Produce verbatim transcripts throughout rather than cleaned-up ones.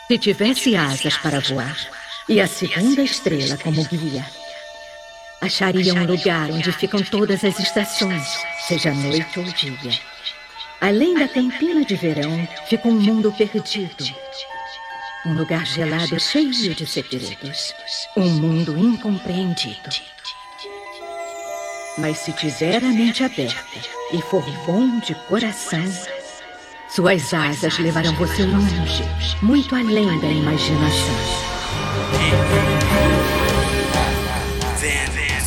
Se tivesse asas para voar e a segunda estrela como guia, acharia um lugar onde ficam todas as estações, seja noite ou dia. Além da campina de verão, fica um mundo perdido. Um lugar gelado cheio de segredos. Um mundo incompreendido. Mas se tiver a mente aberta e for bom de coração, suas asas levarão você longe, muito além da imaginação. Van Van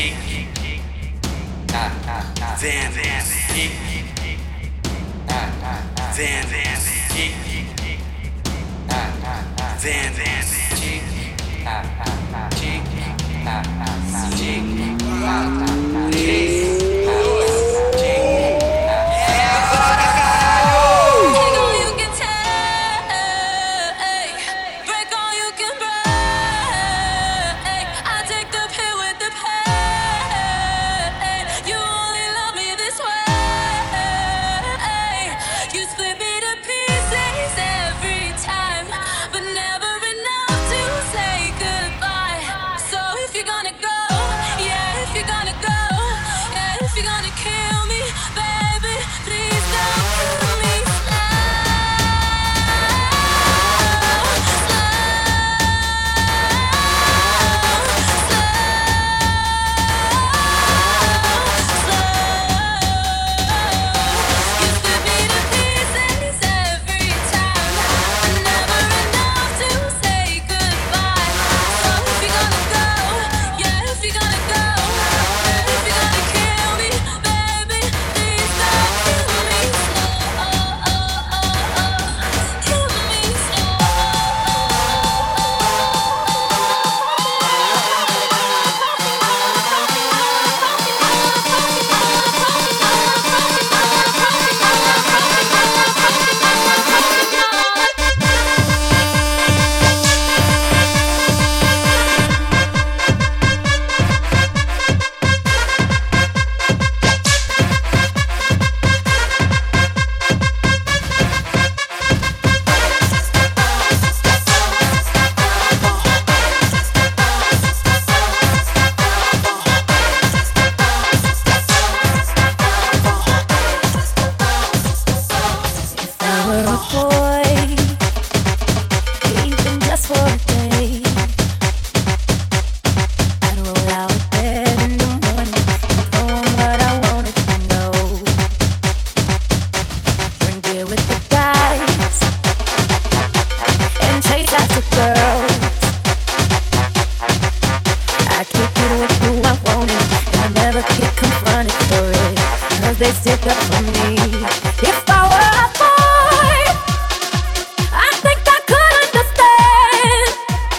Van Van They stick up for me. If I were a boy, I think I could understand.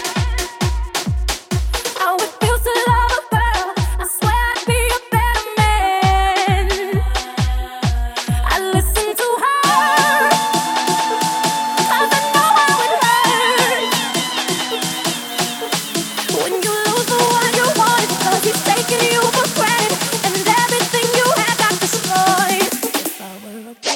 How it feels to love a girl. I swear I'd be a better man. I listen to her, 'cause I know how it hurts when you lose the one you want, 'cause he's taking you for granted, and everything you had got destroyed. If I were a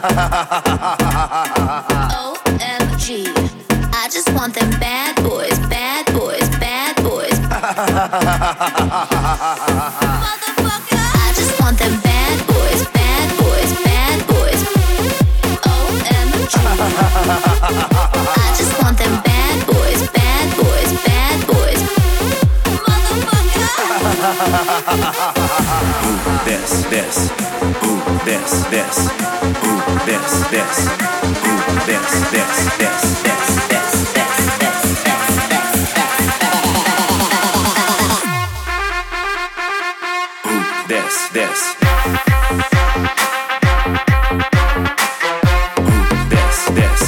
O M G, I just want them bad boys, bad boys, bad boys. Motherfucker, I just want them bad boys, bad boys, bad boys. O M G, I just want them bad boys, bad boys, bad boys. Motherfucker. Ooh, this, this. Ooh, this, this. Ooh, this, this. Ooh, this, this, this, this, this, this, this, this, this. Ooh, this, this. Ooh, this, this.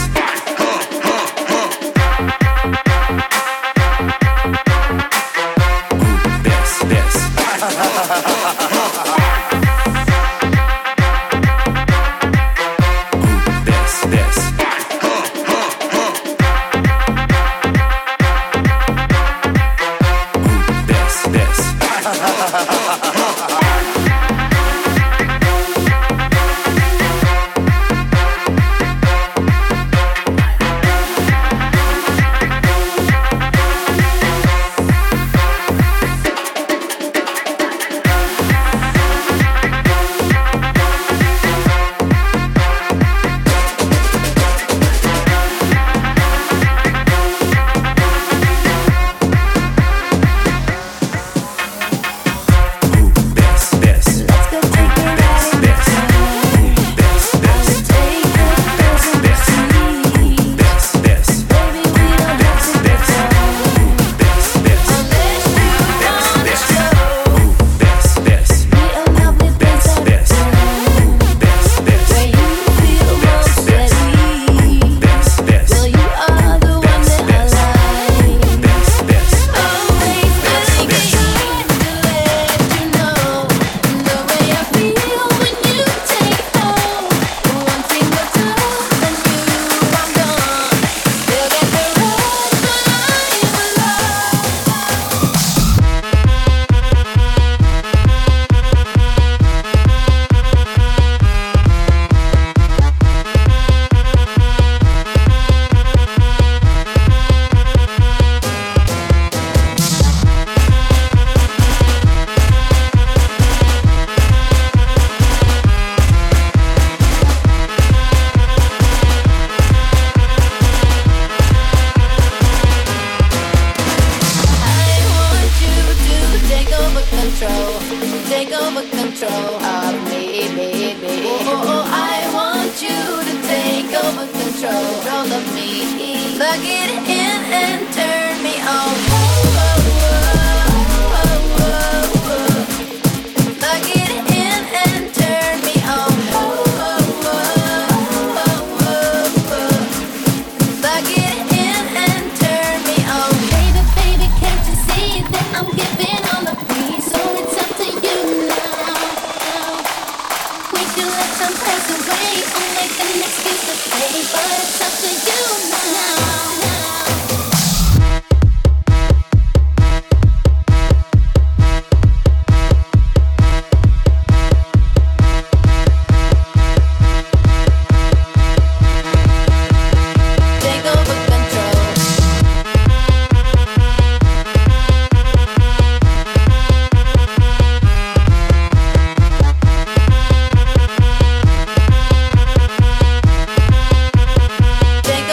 Take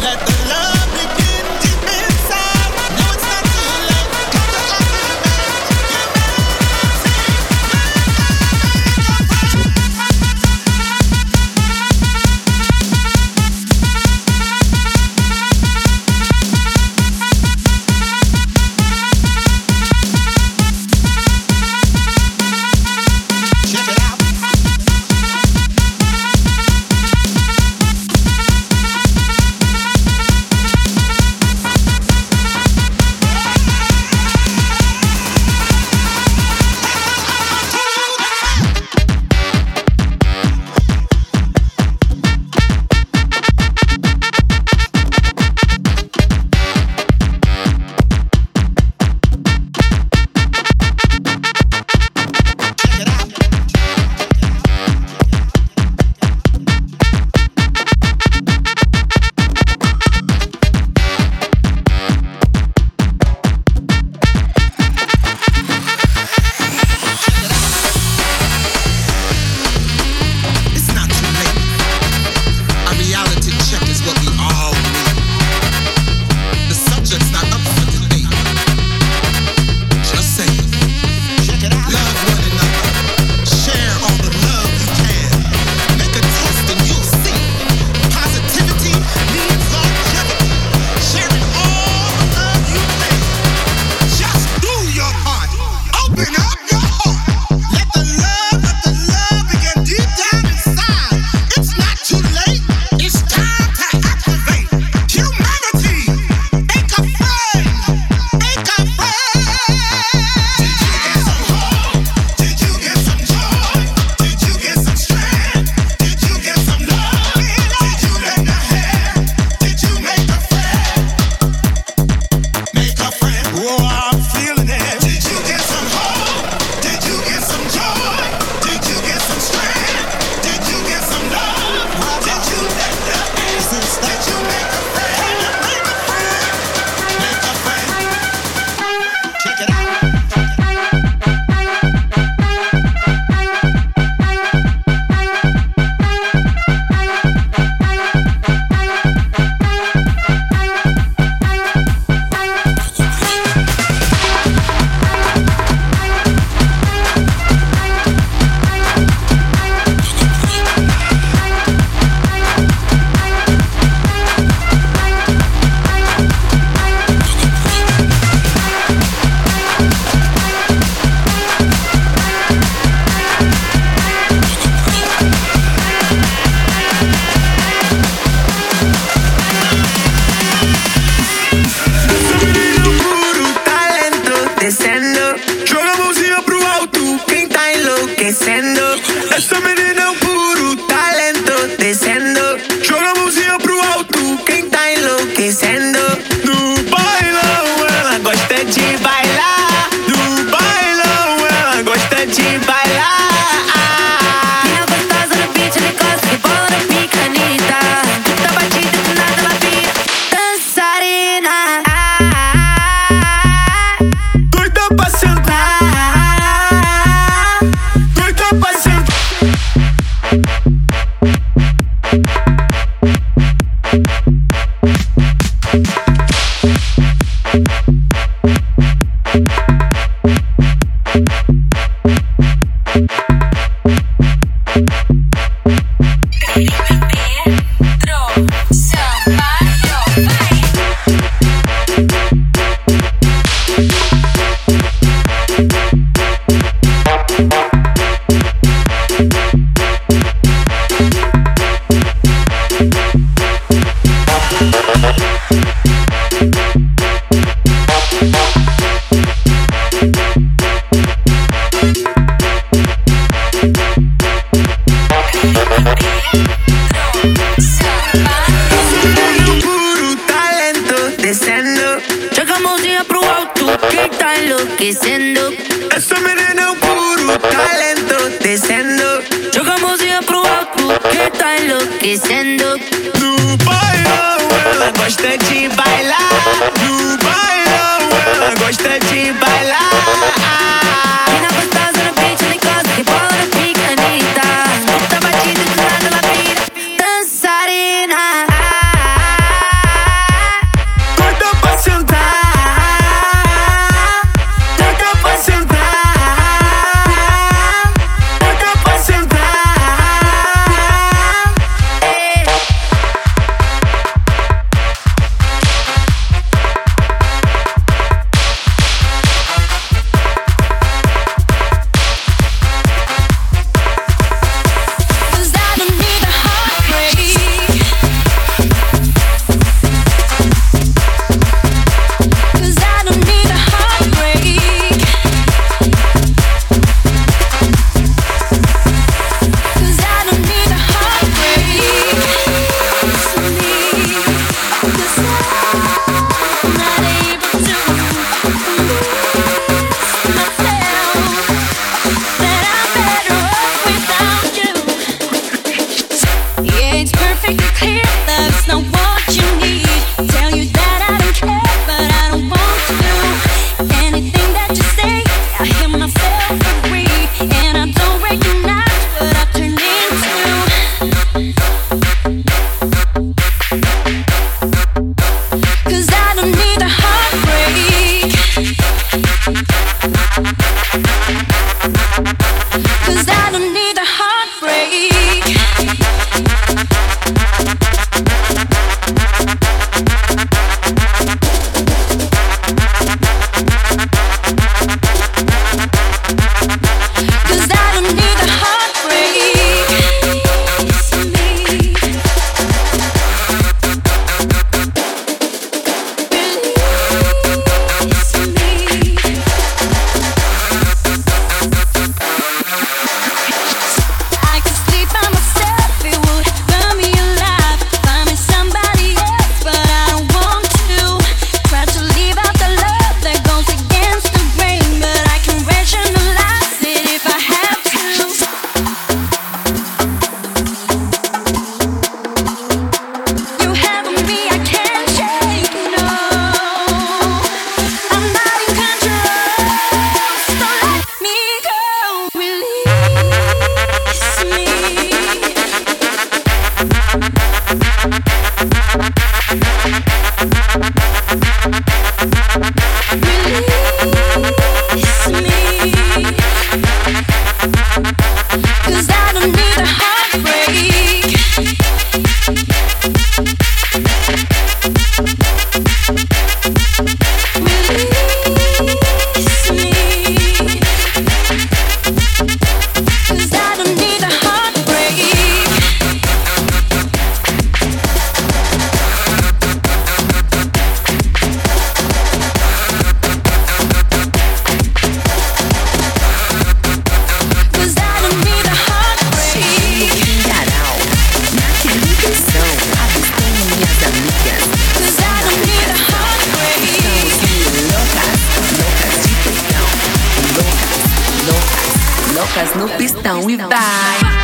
enlouquecendo. Essa menina é um puro talento descendo. Joga a mãozinha pro alto, quem tá enlouquecendo. No bailão ela gosta de bailar. No bailão ela gosta de bailar. Mina gostosa no beat, ela encosta, rebola no pique, Anitta. Escuta a batida, do nada ela vira dançarina. Loucas no pistão e vai.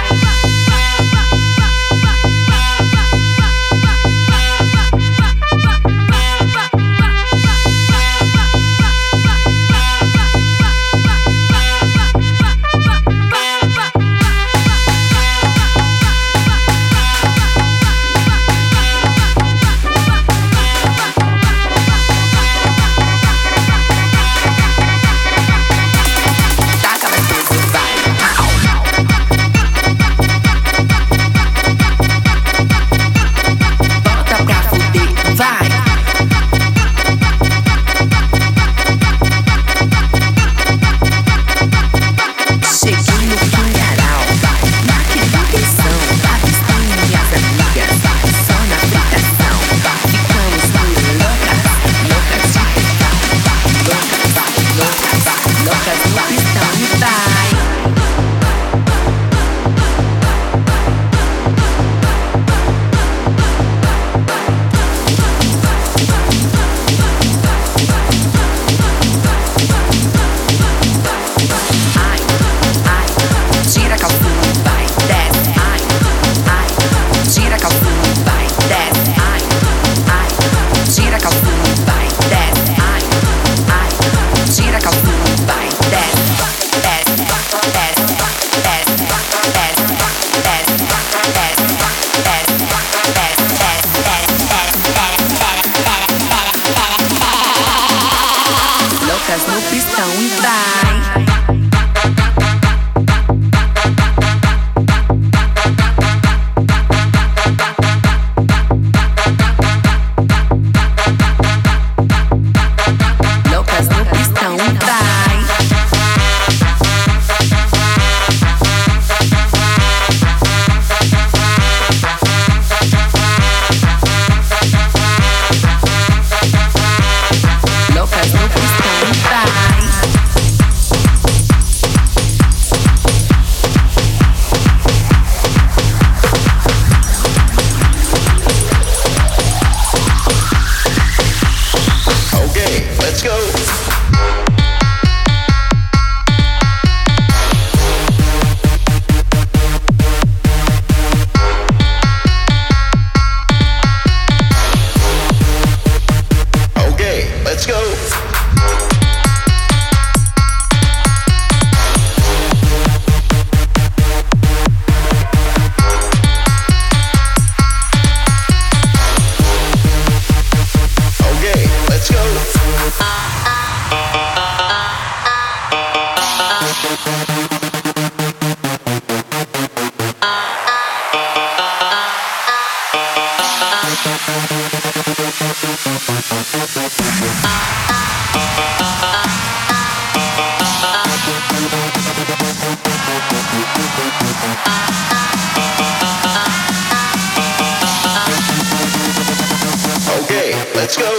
Okay, let's go.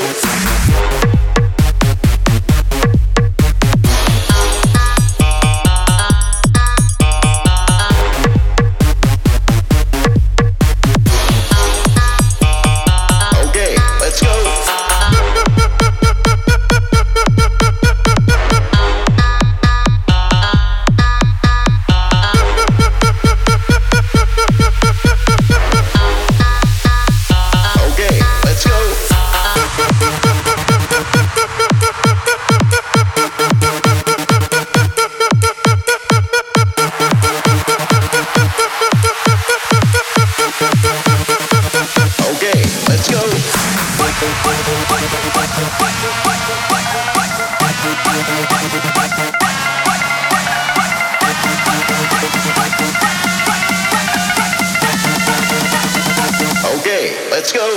Okay, let's go.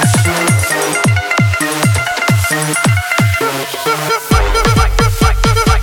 Fight, fight, fight, fight, fight, fight.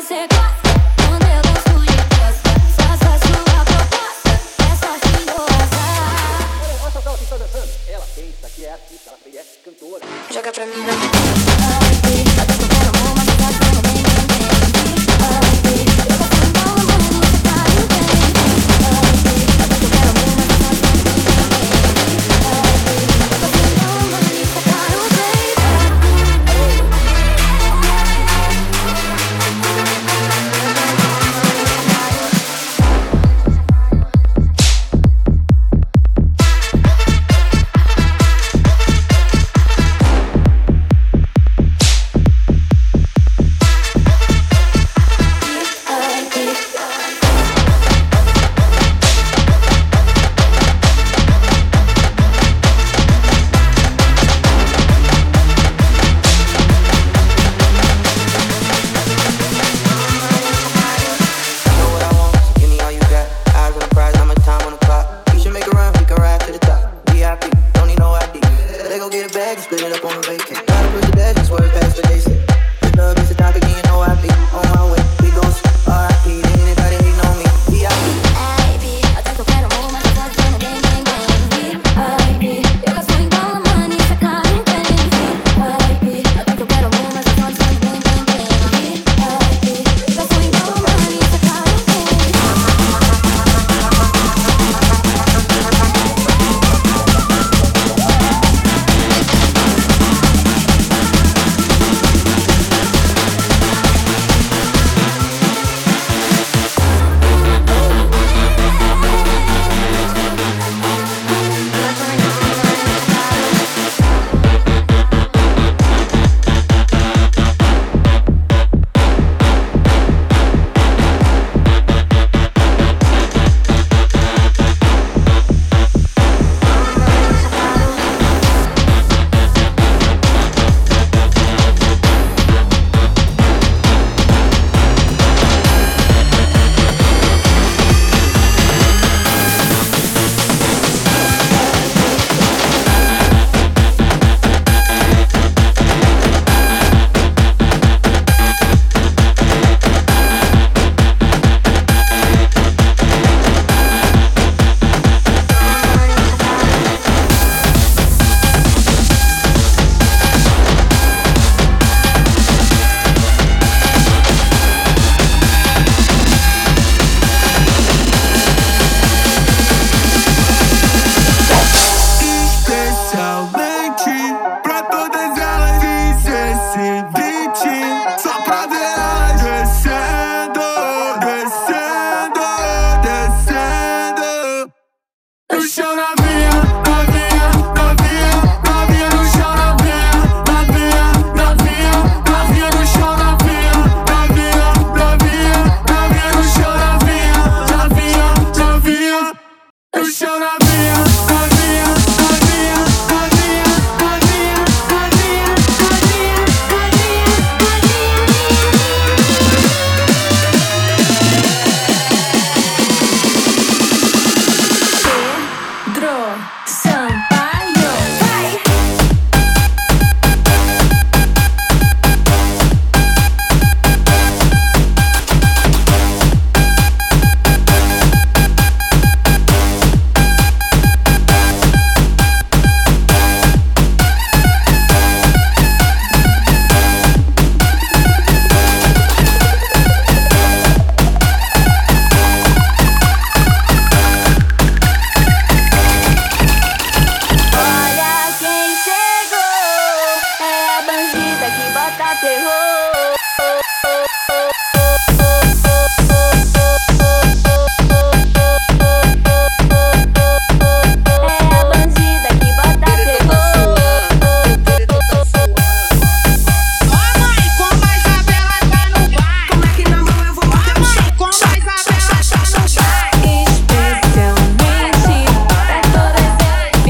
você gosta. Quando eu gosto de costa, faça sua proposta. É sorte ou azar. Olha só quem está dançando. Ela pensa que é artista, ela é cantora. Joga pra mim, vai. Até que eu quero amor, mas eu gosto bem, bem, bem. Eu gosto de bola, mano, você tá indo bem. Até que eu quero amor, mas eu gosto bem, bem, bem. Eu gosto de bola, mano, você tá indo bem.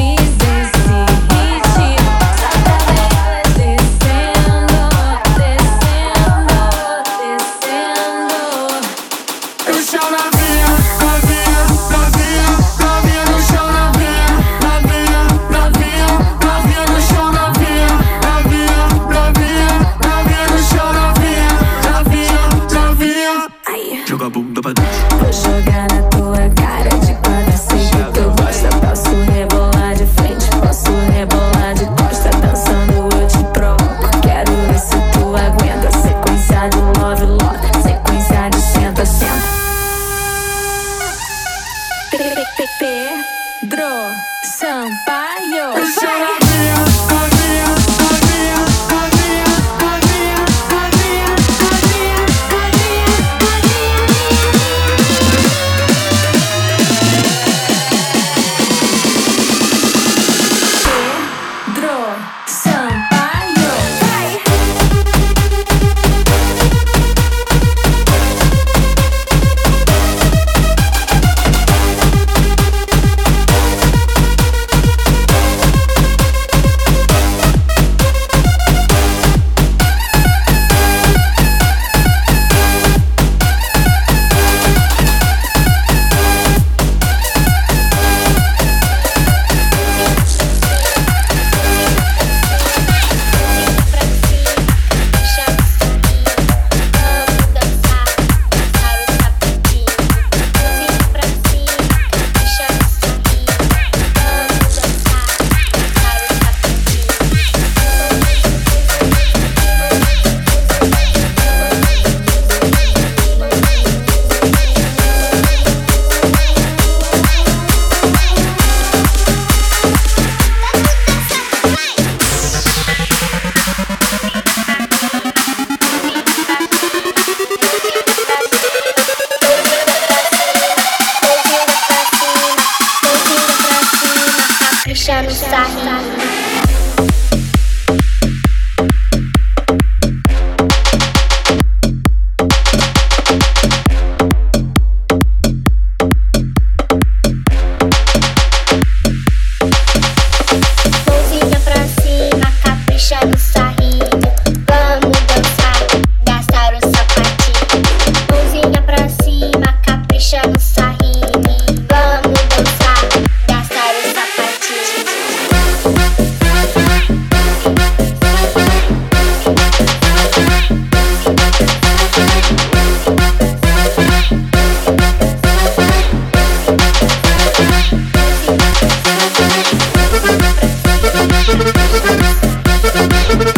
Descendo, descendo.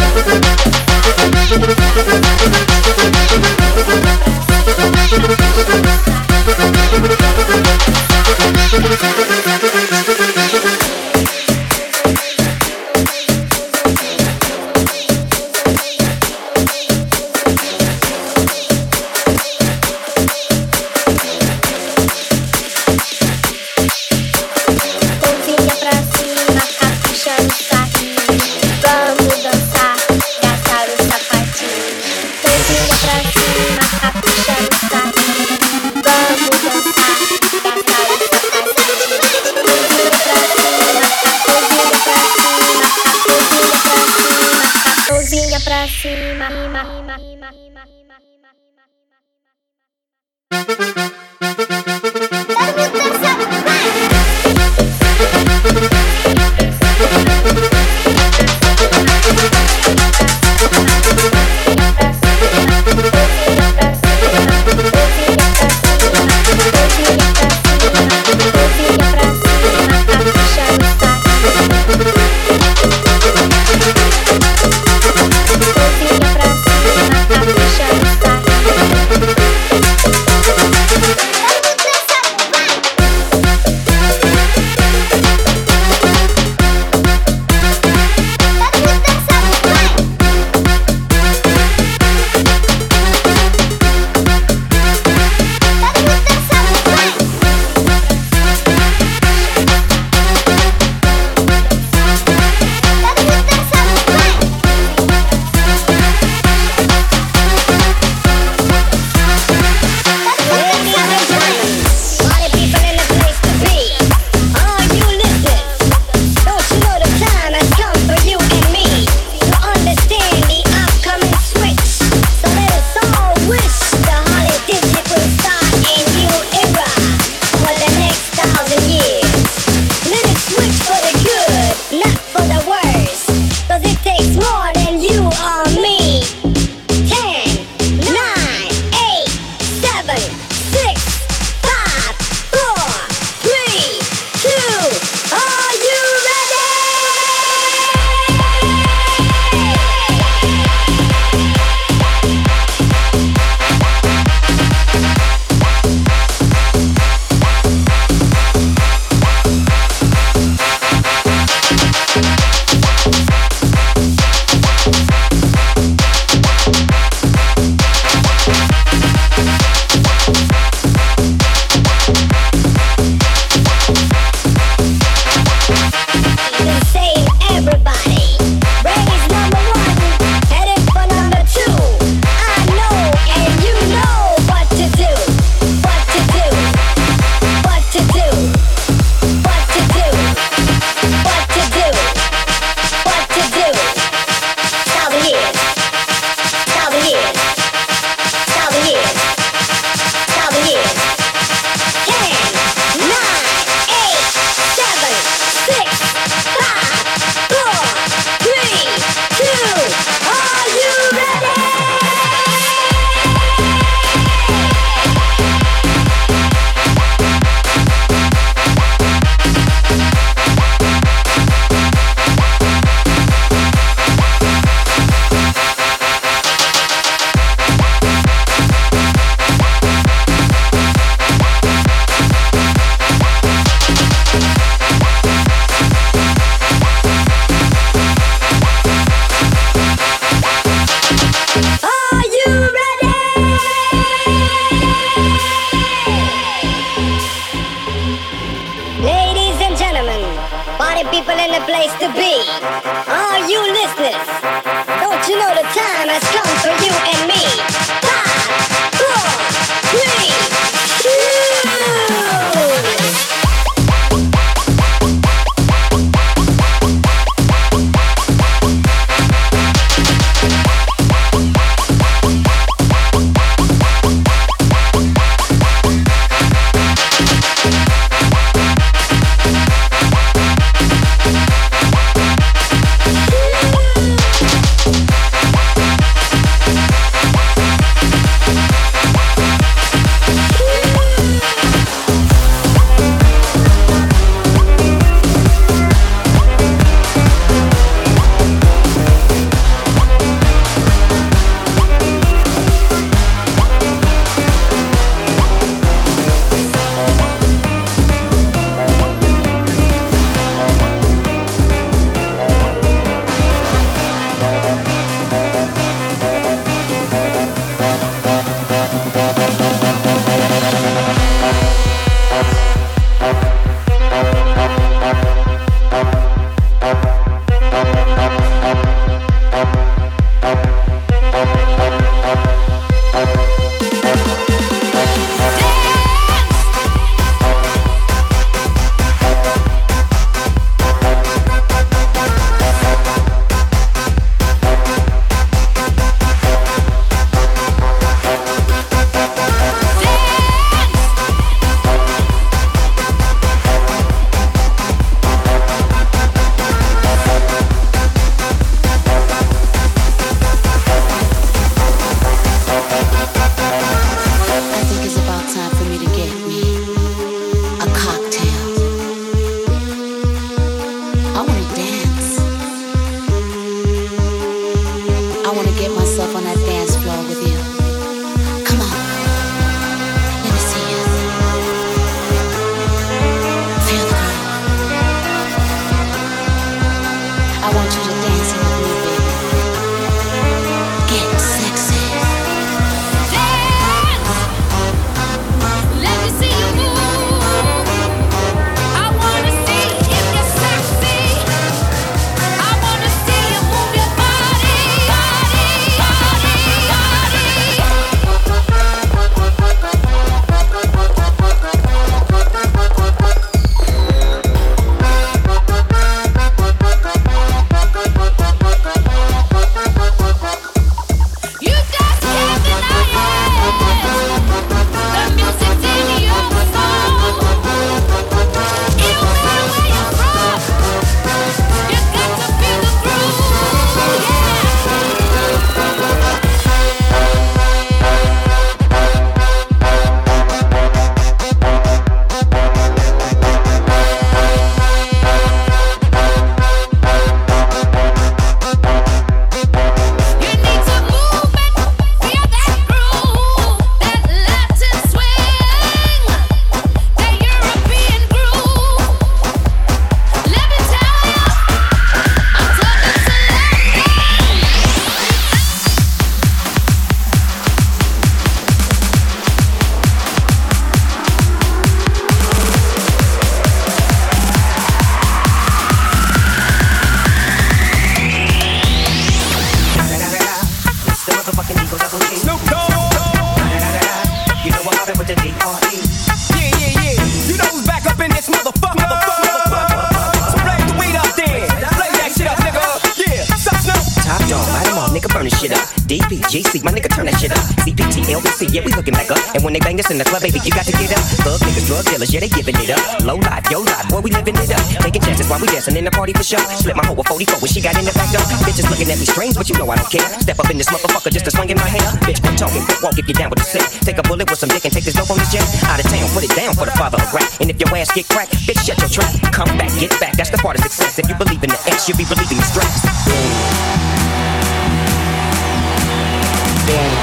people in the place to be. All you listeners, don't you know the time has come for you and me? Five, four, three, two. want to get myself on that dance floor with you. Come on. Let me see you. Feel the groove. I want you to dance with me, baby. Get sexy. Dance. Let me see you move. I wanna see if you're sexy. I wanna see you move your body, body, body, you just can't deny it. The music's in your soul. It don't matter where you're from. You got to feel the groove, you need to move and feel that groove, that Latin swing, that European groove. Let me tell you, I'm talking It's the motherfucking Eagle Double G. Snoop Dogg. You know I'm hopping with the D R E. Yeah, yeah, yeah. You know who's back up in this motherfucker. motherfucker, motherfucker. So blaze the weed up then. Blaze that shit up, nigga. Yeah, suck Snoop. Top dog, light 'em all, nigga, burn this shit up. D P G C, my nigga, turn that shit up. C P T, L B C, yeah, we hooking back up. And when they bang this in the club, baby, you got to get up. Thug niggas, drug dealers, yeah, they giving it up. Low life, yo life, boy, we living it up. Taking chances while we dancing in the party for sure. Slip my hoe with forty-four when she got in the back door. Bitches looking at me strange, but you know I don't care. Step up in this motherfucker just to swing in my hair. Bitch, quit talking, quick walk if you down with the sick. Take a bullet with some dick and take this dope on this jet. Out of town, put it down for the father of rap. And if your ass get cracked, bitch, shut your trap. Come back, get back, that's the part of success. If you believe in the X, you'll be believing the stress. Spin.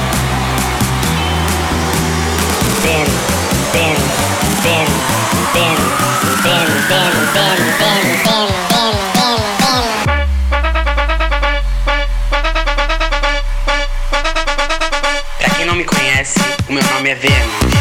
Spin. Spin. Spin. Spin. Spin. Spin. Spin. Spin. Spin. Spin. Spin. Pra quem não me conhece, o meu nome é Venom.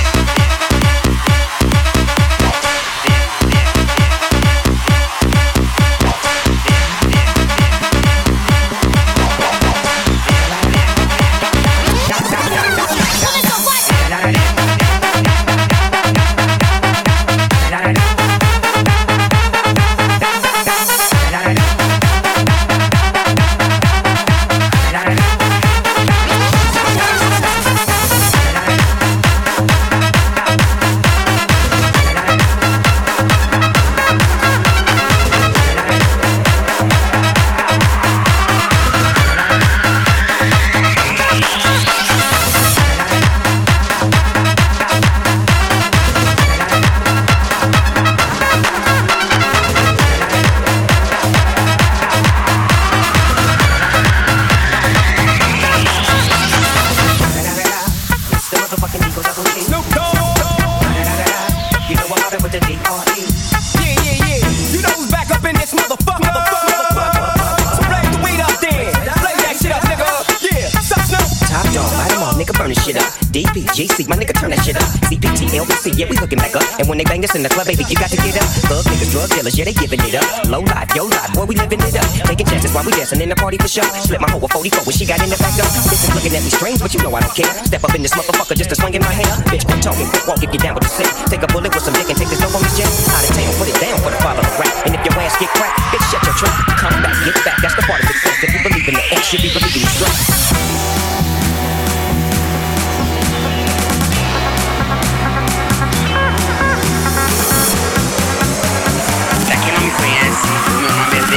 D P G C, my nigga, turn that shit up. C P T, L B C, yeah, we hooking back up. And when they bang this in the club, baby, you got to get up. Thug niggas, drug dealers, yeah, they giving it up. Low life, yo life, boy, we living it up. Taking chances while we dancing in the party for sure. Slip my hoe with forty-four when she got in the back door. Bitches looking at me strange, but you know I don't care. Step up in this motherfucker just to swing in my hair. Bitch, quit talking, quick walk if you down with the sick. Take a bullet with some dick and take this dope on this jet. Out of town, put it down for the father of rap. And if your ass get cracked, bitch, shut your trap. Come back, get back, that's the part of success. If you believe in the X, you be believing the stress. Meu nome é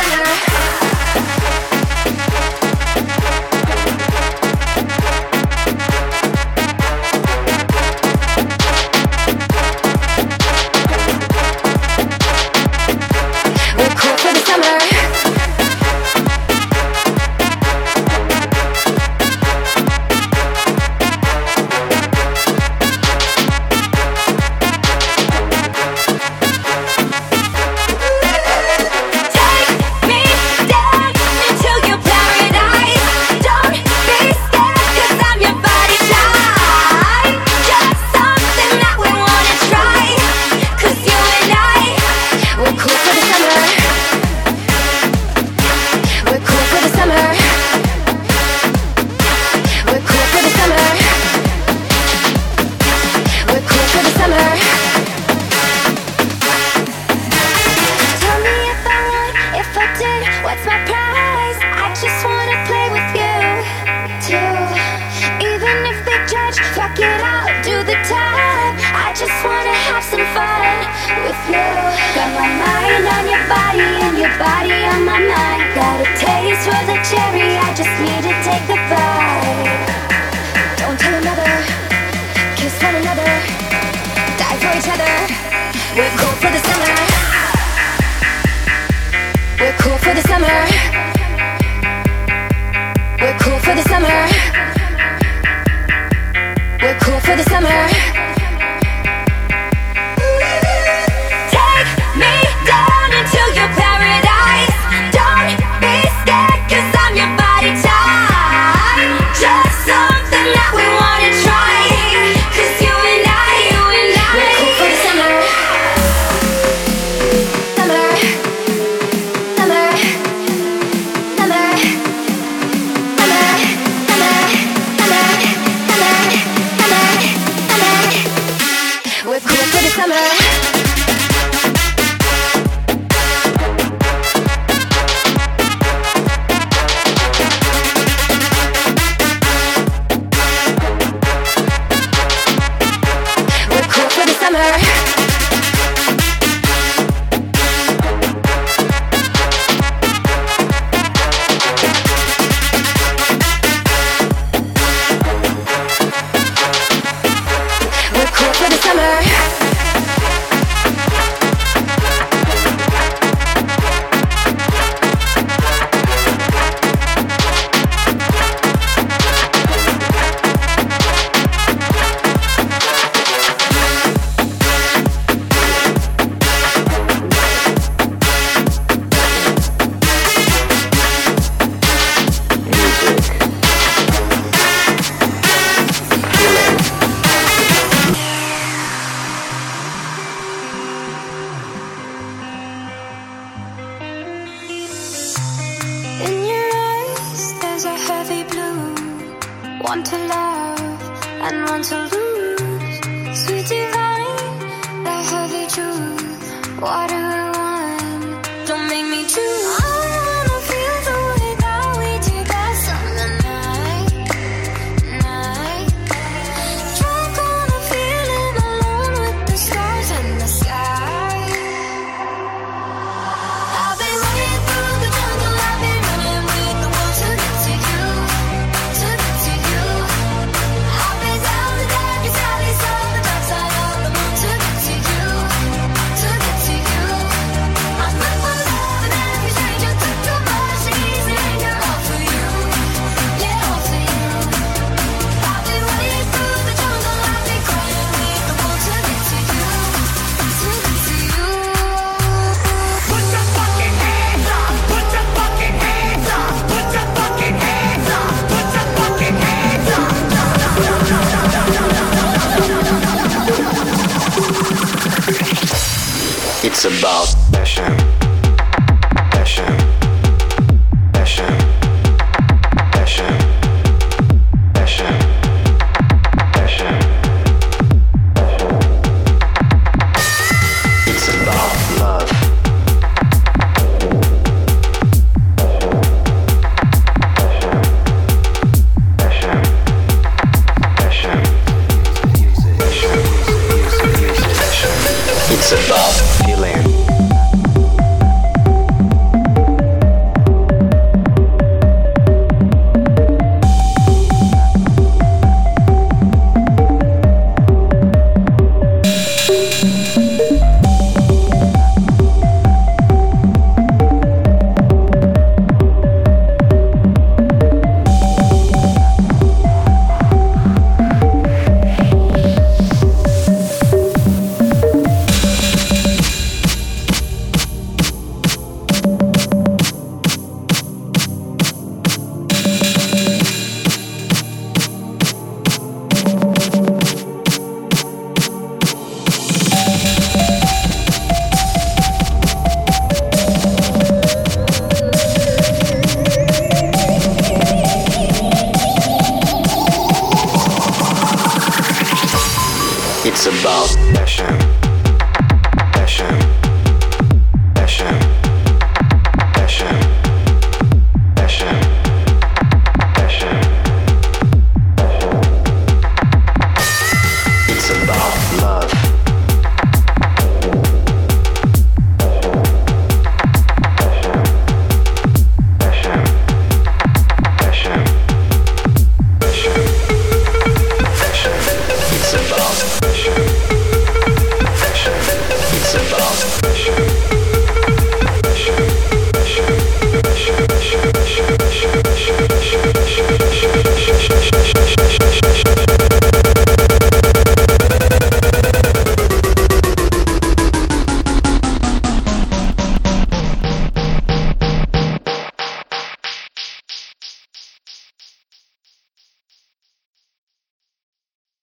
It's about passion, passion, passion.